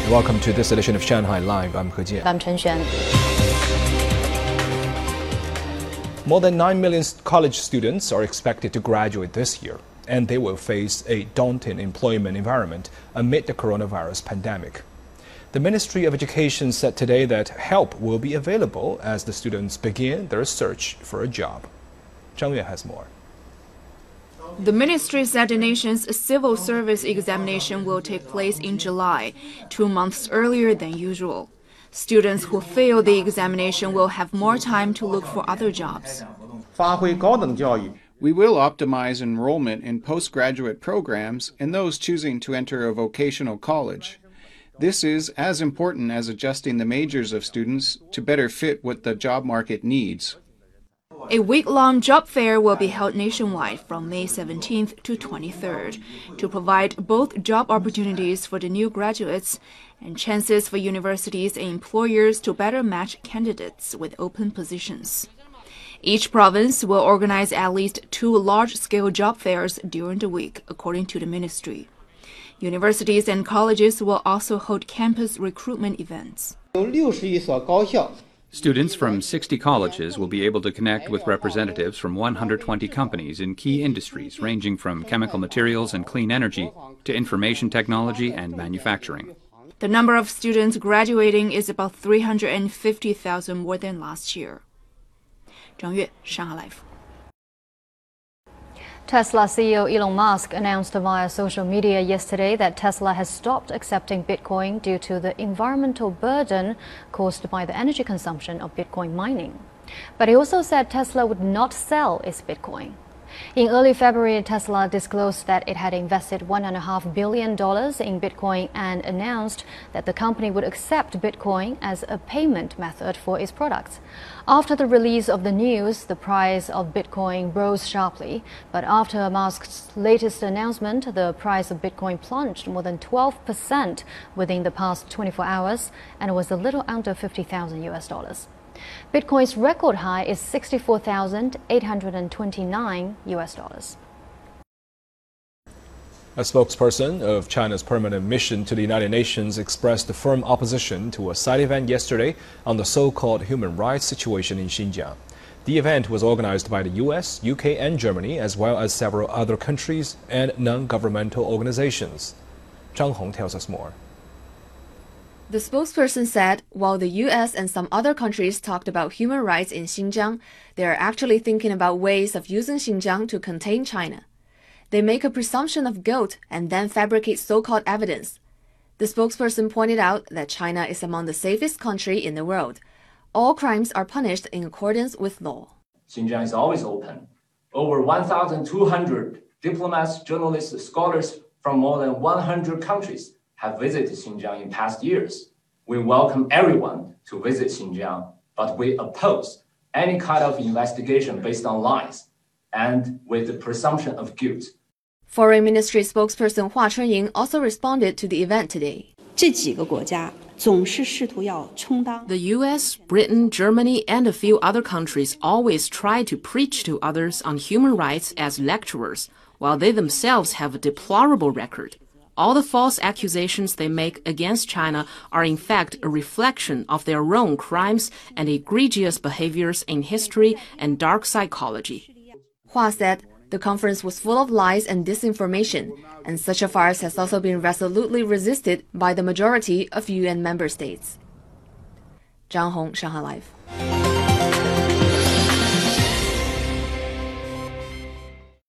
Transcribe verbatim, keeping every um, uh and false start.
Welcome to this edition of Shanghai Live. I'm He Jian. I'm Chen Xuan. More than nine million college students are expected to graduate this year, and they will face a daunting employment environment amid the coronavirus pandemic. The Ministry of Education said today that help will be available as the students begin their search for a job. Zhang Yue has more. The ministry said the nation's civil service examination will take place in July, two months earlier than usual. Students who fail the examination will have more time to look for other jobs. We will optimize enrollment in postgraduate programs and those choosing to enter a vocational college. This is as important as adjusting the majors of students to better fit what the job market needs. A week-long job fair will be held nationwide from May seventeenth to twenty-third to provide both job opportunities for the new graduates and chances for universities and employers to better match candidates with open positions. Each province will organize at least two large-scale job fairs during the week, according to the ministry. Universities and colleges will also hold campus recruitment events. Students from sixty colleges will be able to connect with representatives from one hundred twenty companies in key industries ranging from chemical materials and clean energy to information technology and manufacturing. The number of students graduating is about three hundred fifty thousand more than last year. Zhang Yue, Shanghai Live. Tesla C E O Elon Musk announced via social media yesterday that Tesla has stopped accepting Bitcoin due to the environmental burden caused by the energy consumption of Bitcoin mining. But he also said Tesla would not sell its Bitcoin. In early February, Tesla disclosed that it had invested one point five billion dollars in Bitcoin and announced that the company would accept Bitcoin as a payment method for its products. After the release of the news, the price of Bitcoin rose sharply, but after Musk's latest announcement, the price of Bitcoin plunged more than twelve percent within the past twenty-four hours and was a little under fifty thousand U S dollars. Bitcoin's record high is sixty-four thousand eight hundred twenty-nine U S dollars. A spokesperson of China's permanent mission to the United Nations expressed firm opposition to a side event yesterday on the so-called human rights situation in Xinjiang. The event was organized by the U S, U K and Germany, as well as several other countries and non-governmental organizations. Zhang Hong tells us more. The spokesperson said while the U S and some other countries talked about human rights in Xinjiang, they are actually thinking about ways of using Xinjiang to contain China. They make a presumption of guilt and then fabricate so-called evidence. The spokesperson pointed out that China is among the safest countries in the world. All crimes are punished in accordance with law. Xinjiang is always open. Over one thousand two hundred diplomats, journalists, scholars from more than one hundred countries have visited Xinjiang in past years. We welcome everyone to visit Xinjiang, but we oppose any kind of investigation based on lies and with the presumption of guilt. Foreign Ministry spokesperson Hua Chunying also responded to the event today. The U S, Britain, Germany, and a few other countries always try to preach to others on human rights as lecturers, while they themselves have a deplorable record. All the false accusations they make against China are in fact a reflection of their own crimes and egregious behaviors in history and dark psychology. Hua said the conference was full of lies and disinformation, and such a farce has also been resolutely resisted by the majority of U N member states. Zhang Hong, Shanghai Live.